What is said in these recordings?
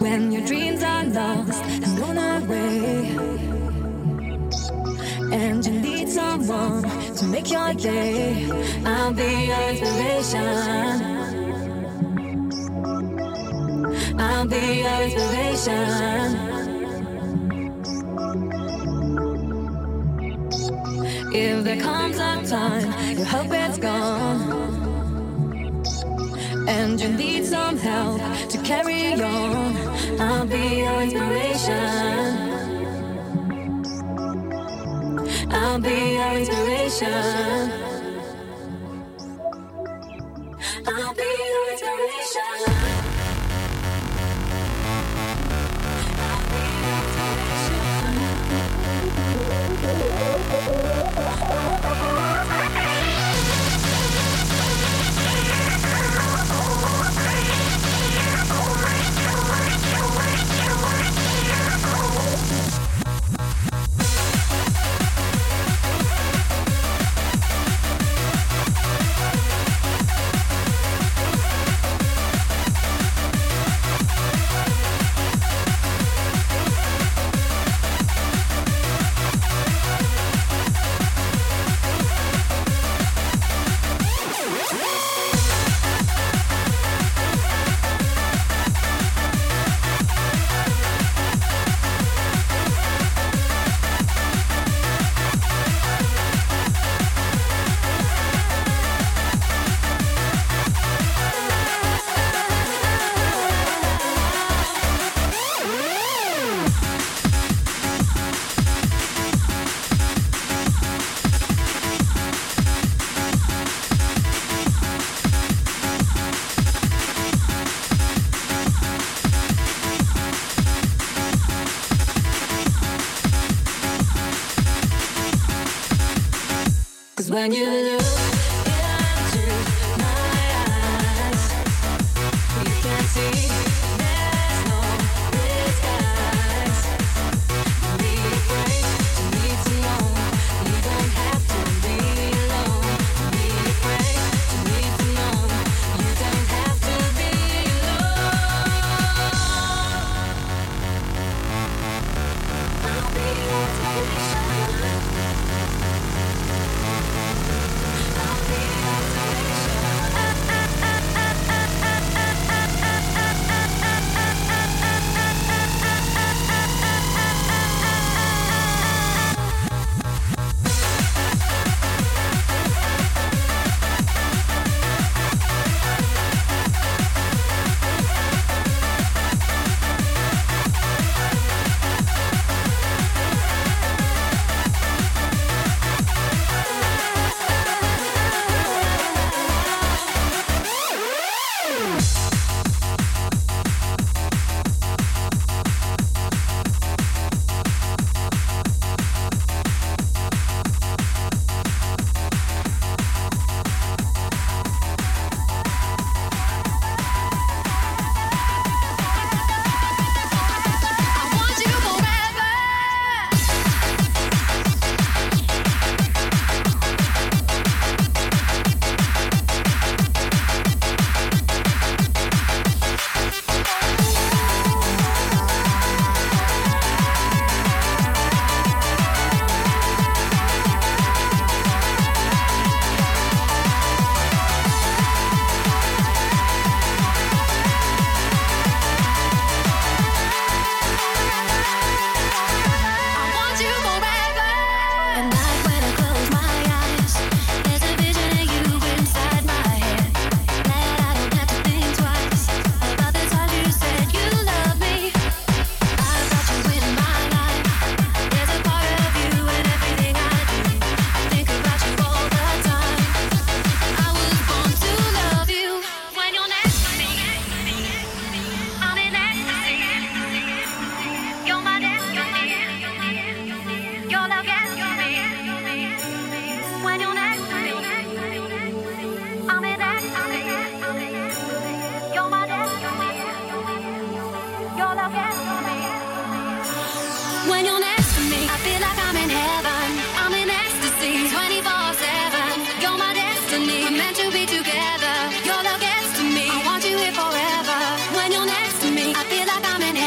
when your dreams are lost and blown away, and you need someone to make your day. I'll be your inspiration. I'll be your inspiration. If there comes a time your hope is gone and you need some help to carry on, I'll be your inspiration. I'll be your inspiration. I'll be your inspiration. When you look into my eyes, you can see there's no disguise. Don't be afraid to need someone. You don't have to be alone. Don't be afraid to need someone. You don't have to be alone. I'll be your inspiration. I feel like I'm in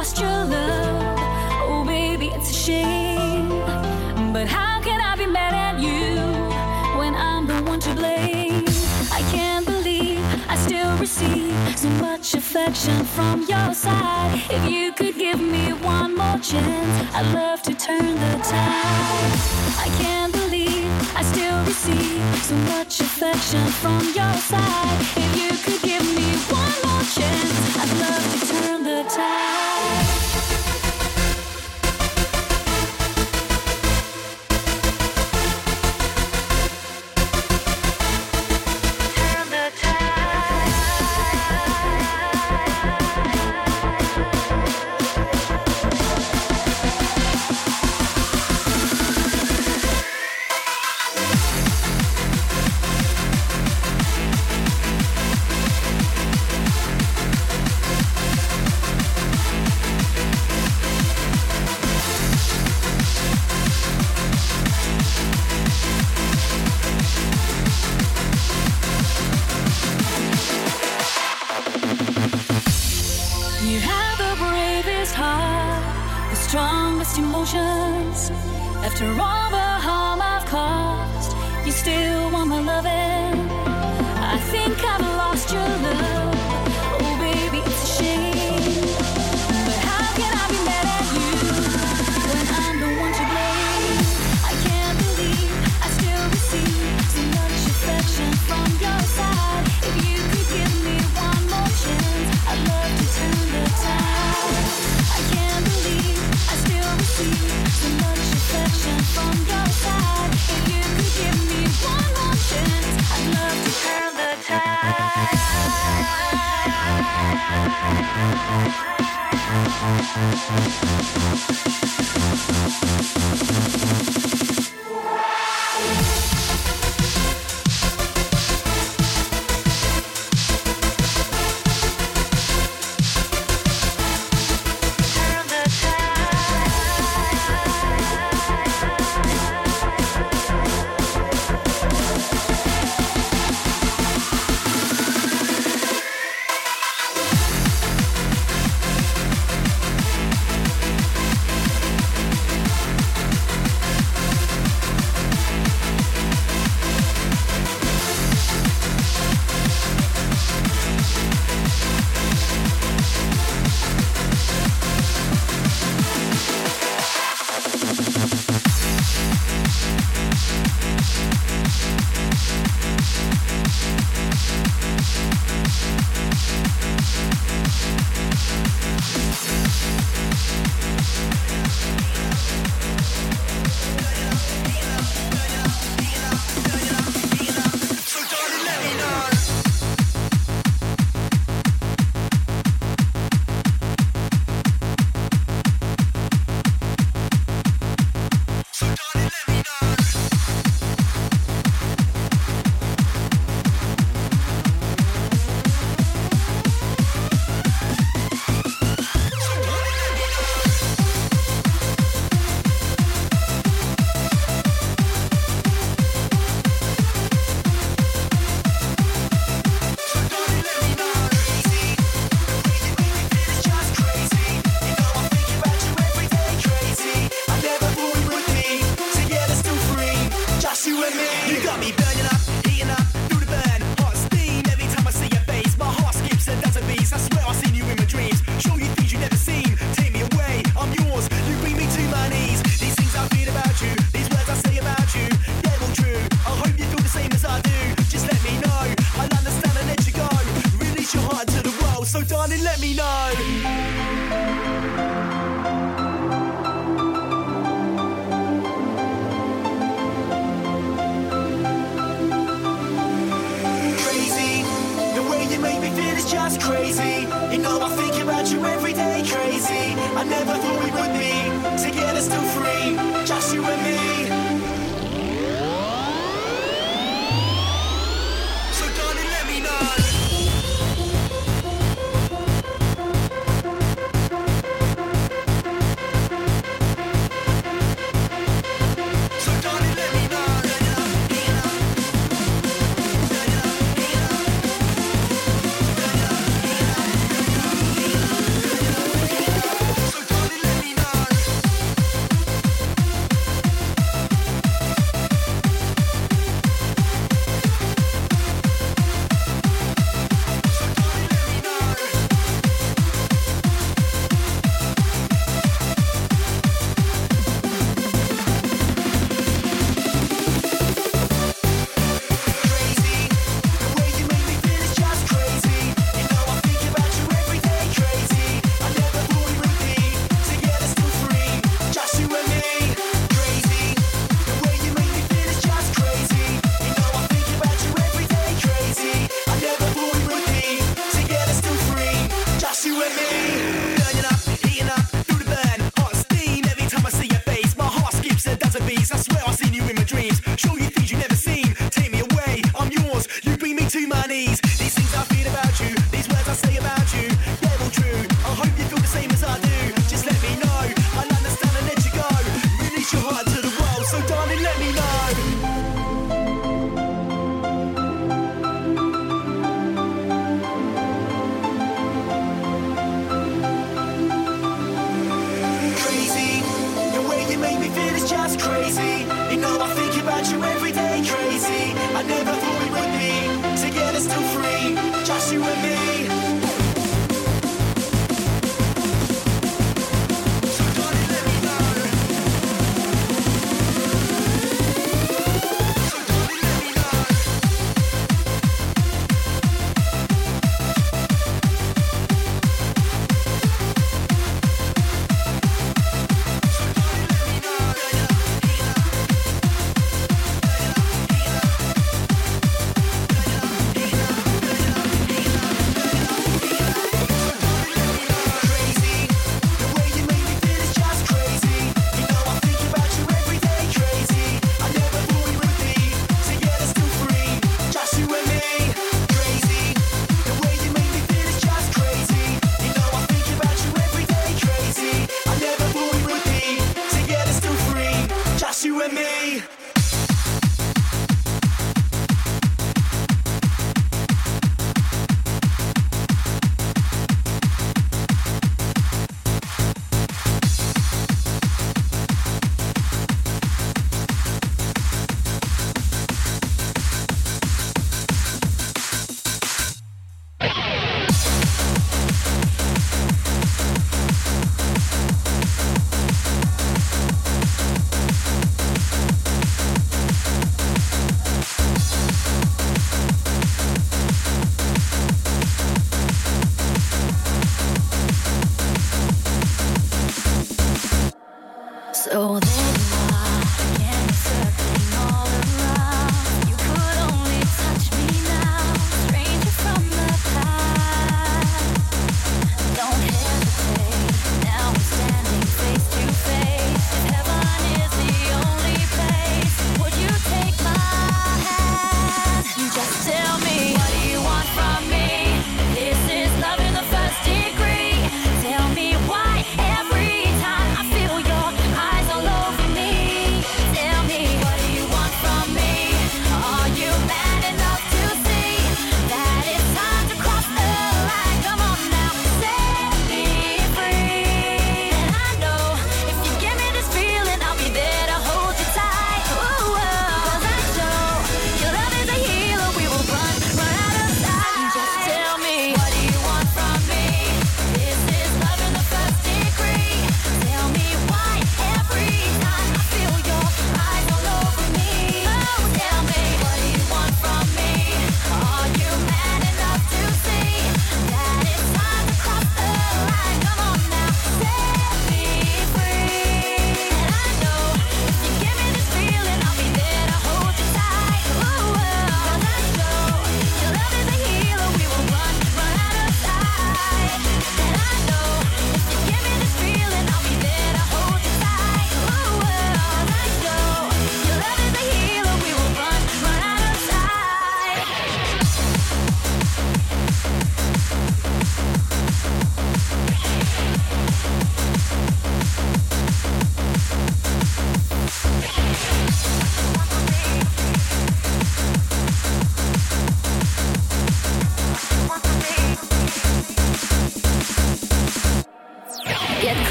lost your love. Oh baby, it's a shame. But how can I be mad at you when I'm the one to blame? I can't believe I still receive so much affection from your side. If you could give me one more chance, I'd love to turn the tide. I can't believe I still receive so much affection from your side. If you could give me one more chance, I'd love to turn the tide. Emotions. After all the harm I've caused, you still want my loving. I think I've lost your love. Oh baby, it's a shame. But how can I be mad at you when I'm the one to blame? I can't believe I still receive so much affection from your side. If you could give me one more chance, I'd love to turn the tide. I can't believe I still receive so much affection from your side. If you could give me one more chance, I'd love to turn the tide.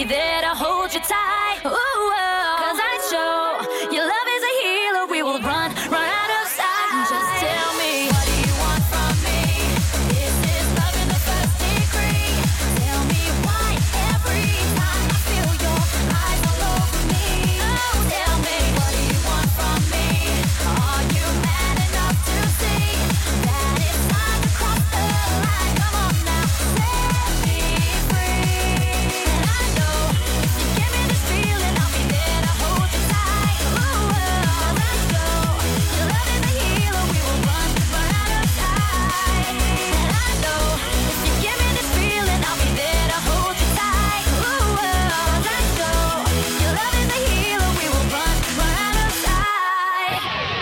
be there to hold you tight. Ooh, oh, 'cause I show your love is a healer. We will run out of sight. Just tell me, what do you want from me? Is this love in the first degree? Tell me why every time I feel your eyes all over me. Oh, tell me, what do you want from me? Are you mad enough to see that it's time to cross the line? Come on now, set me free. And I know if you give me this feeling, I'll be there to hold you tight. Ooh, well, let's go. Your love is a healer. We will run out of sight. And I know if you give me this feeling, I'll be there to hold you tight. Ooh, well, let's go. Your love is a healer. We will run out of sight.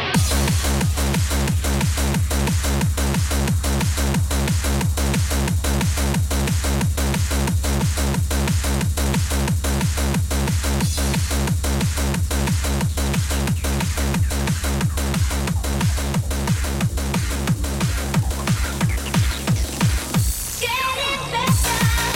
Getting better.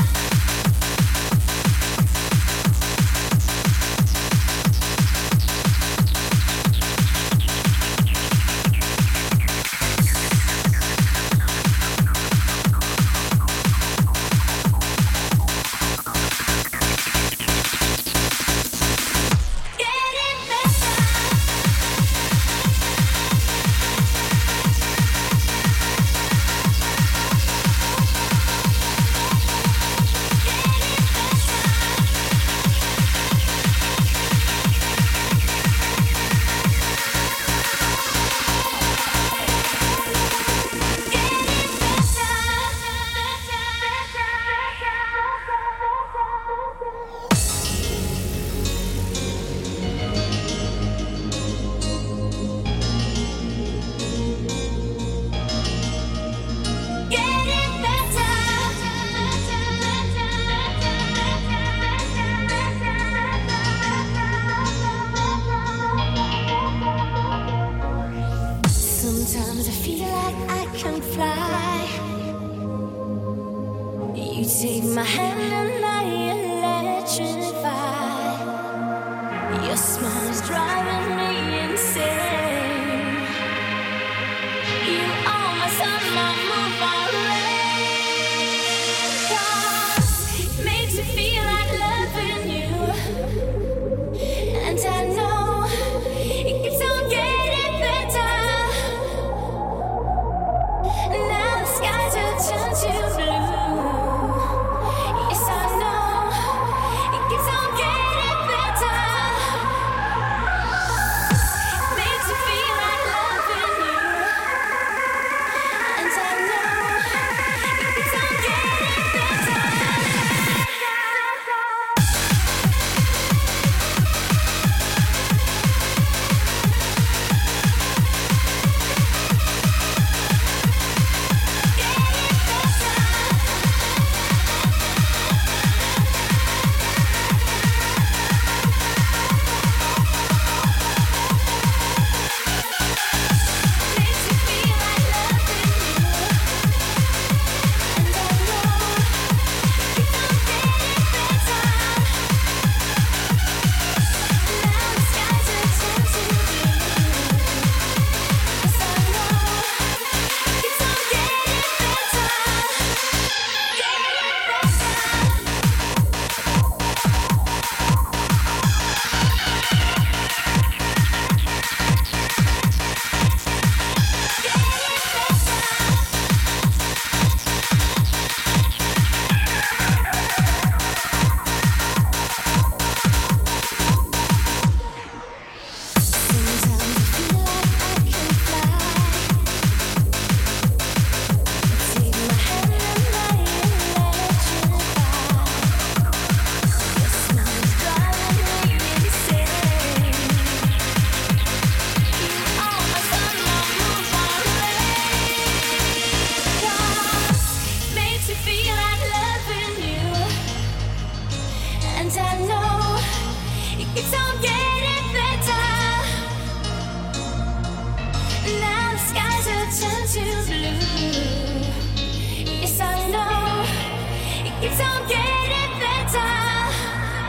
Getting better. Getting better. Sometimes I feel like I can fly. You take my hand and I electrify. Your smile is driving me insane. You are my sun, my moon, my rain. 'Cause it makes me feel like loving you. And I know it keeps on getting better. Now the skies have turned to blue. Yes, I know it keeps on getting better. Makes me feel like loving you. And I know it keeps on getting better. It's all getting better.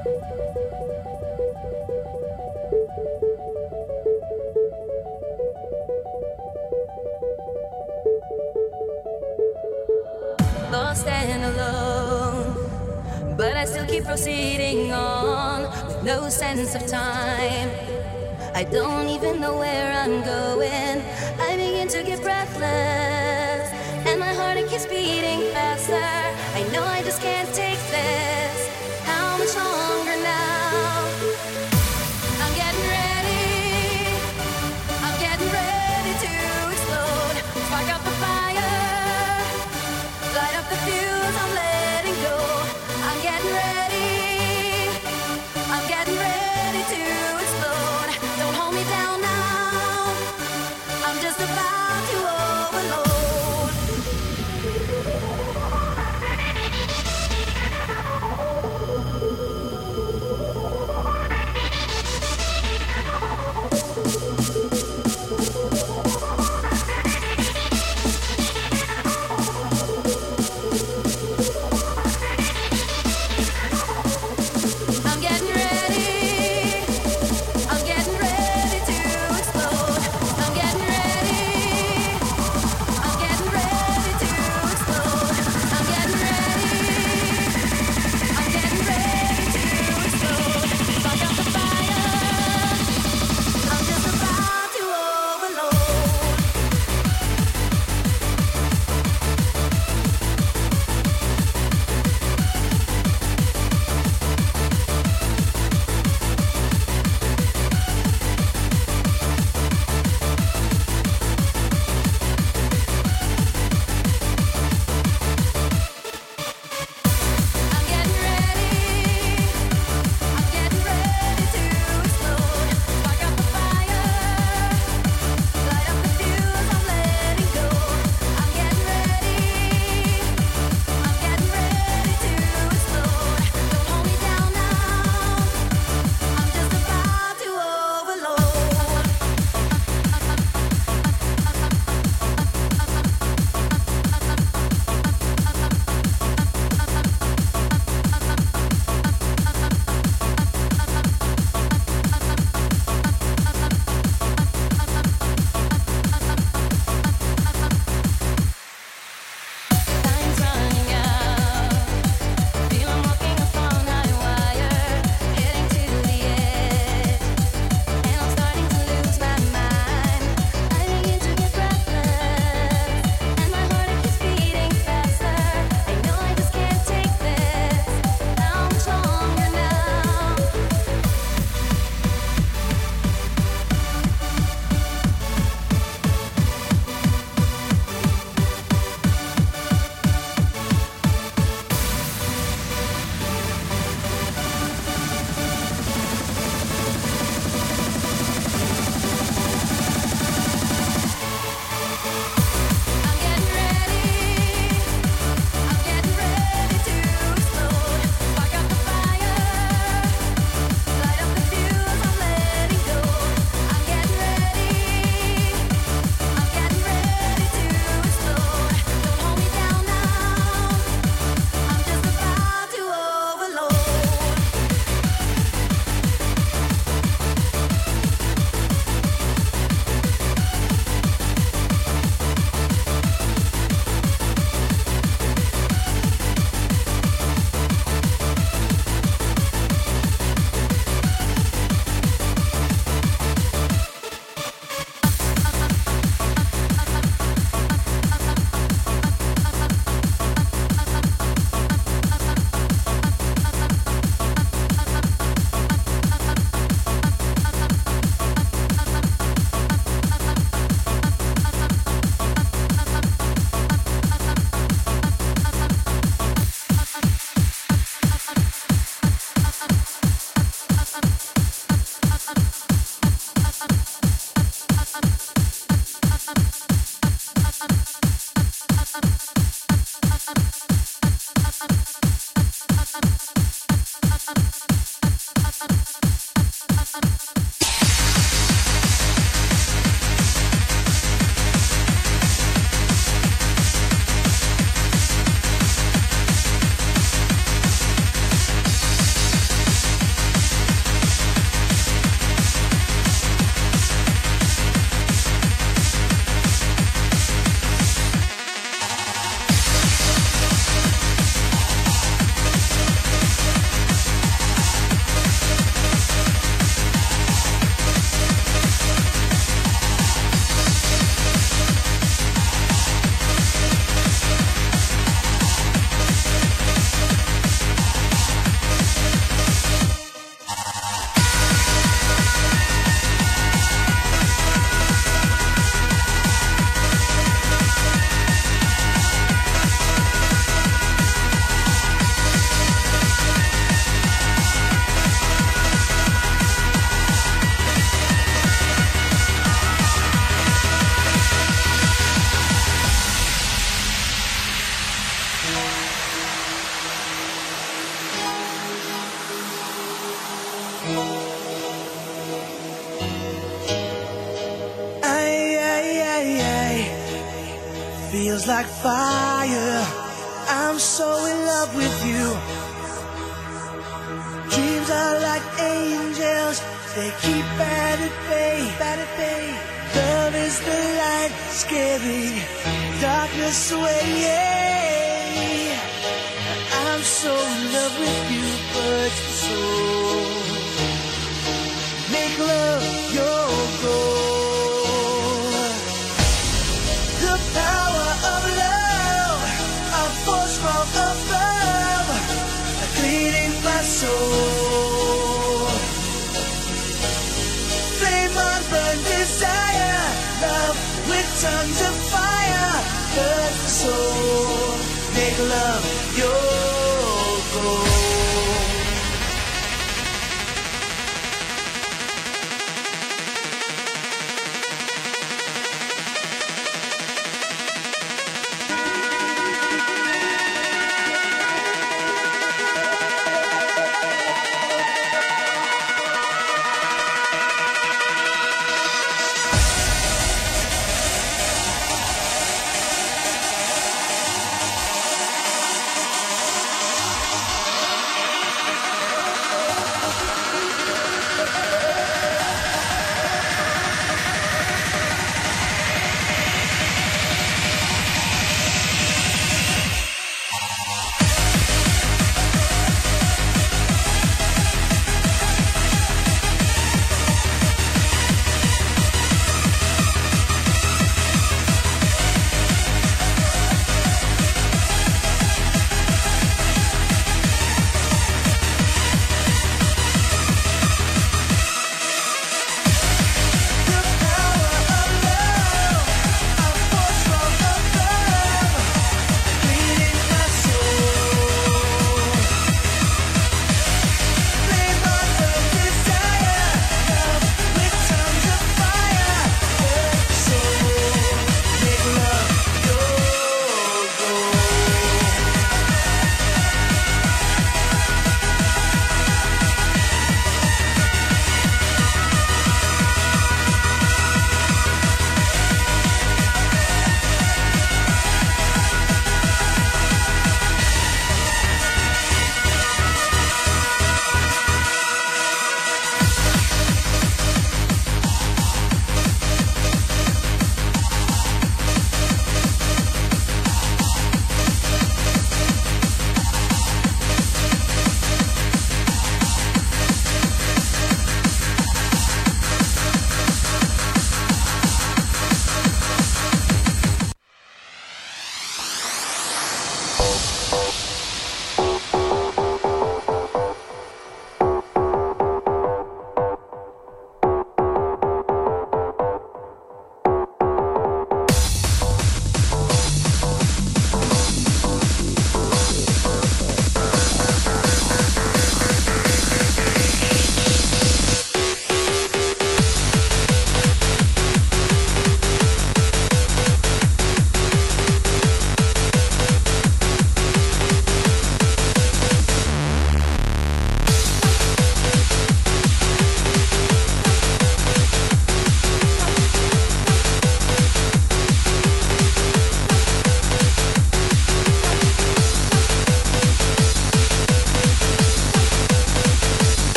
Lost and alone, but I still keep proceeding on with no sense of time. I don't even know where I'm going. I begin to get breathless, and my heart it keeps beating faster. I know I just can't take this. How much longer now? I'm getting ready. I'm getting ready to explode. Spark up the fire. Light up the fuse, I'm letting go. I'm getting ready. I'm getting ready to explode. Don't hold me down now. I'm just about to overload. feels like fire. I'm so in love with you. Dreams are like angels, they keep at bay, at bay. Love is the light, scaring darkness away. Yeah. I'm so in love with you, but so make love your goal. The power of love, a force from above, cleaning my soul. Flame on burn desire, love with tongues of fire, burn the soul. Make love your goal.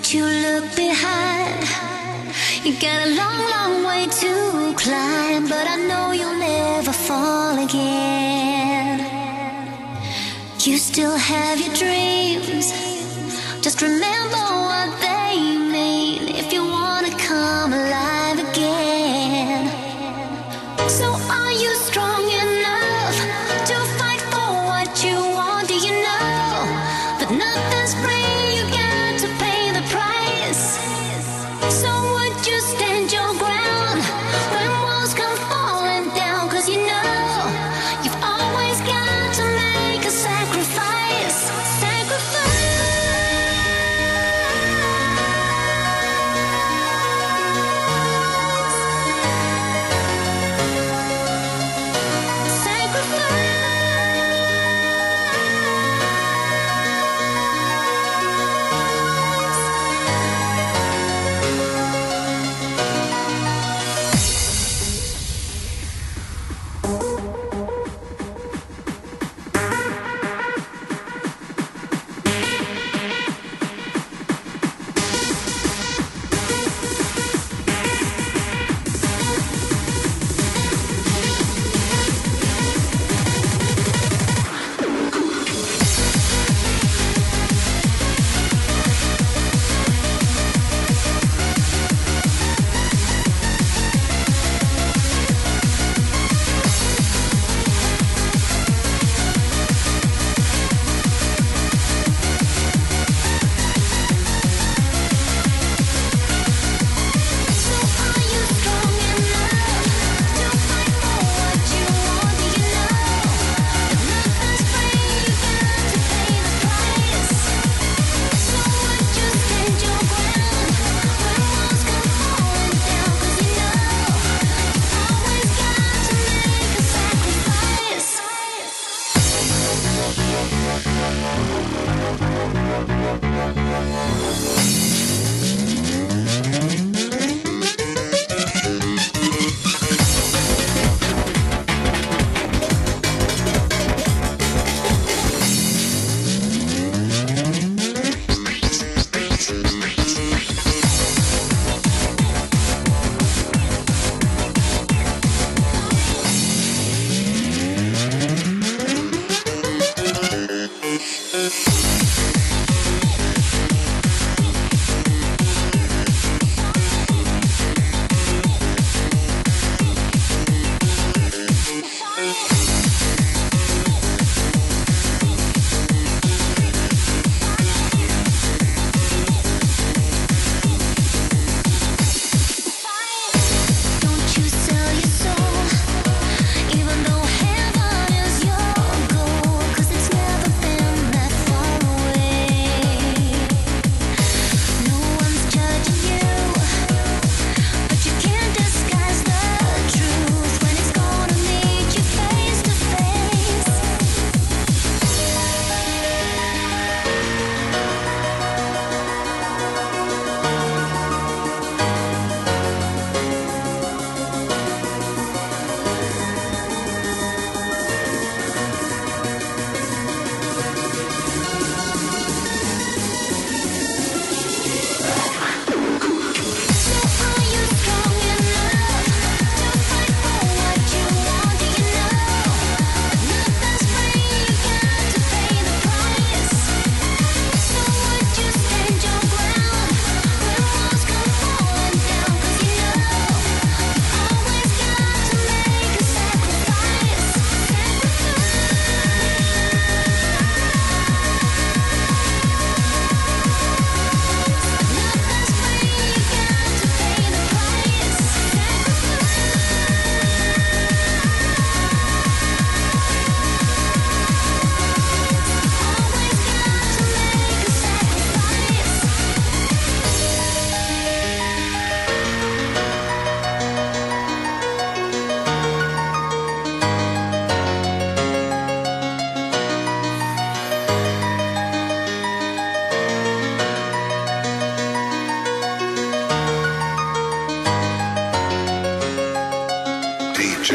Don't you look behind. You got a long, long way to climb, but I know you'll never fall again. You still have your dreams. Just remember what they mean if you wanna come alive again. So are you strong enough to fight for what you want? Do you know that nothing's free? You got to pay the price. So would you stand your ground when walls come falling down? 'Cause you know you've always got to make a sacrifice.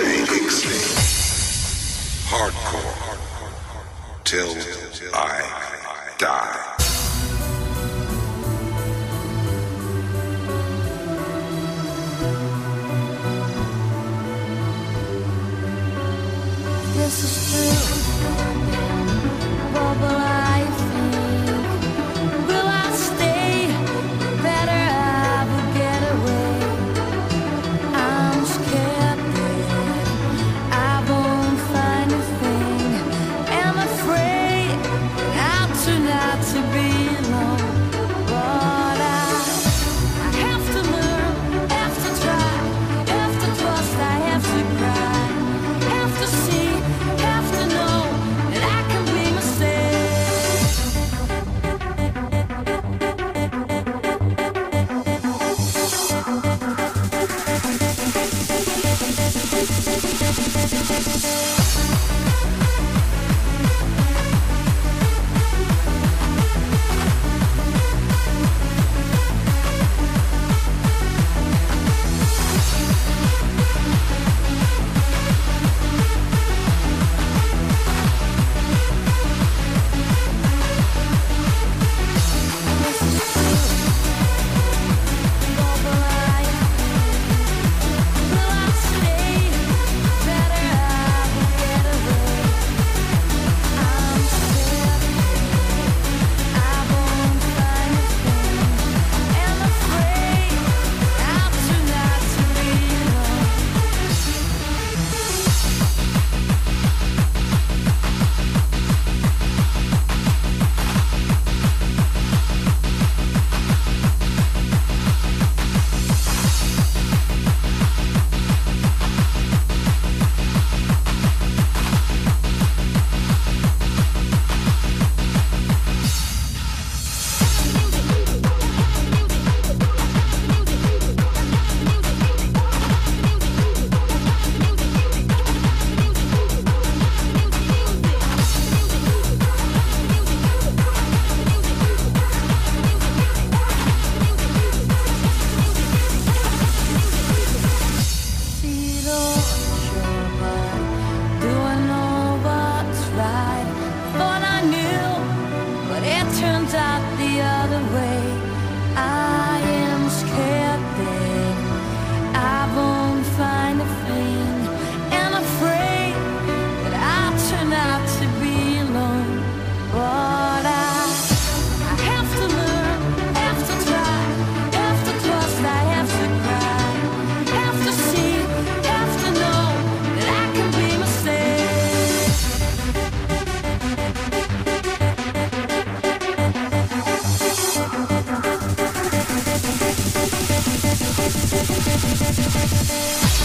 Hardcore till I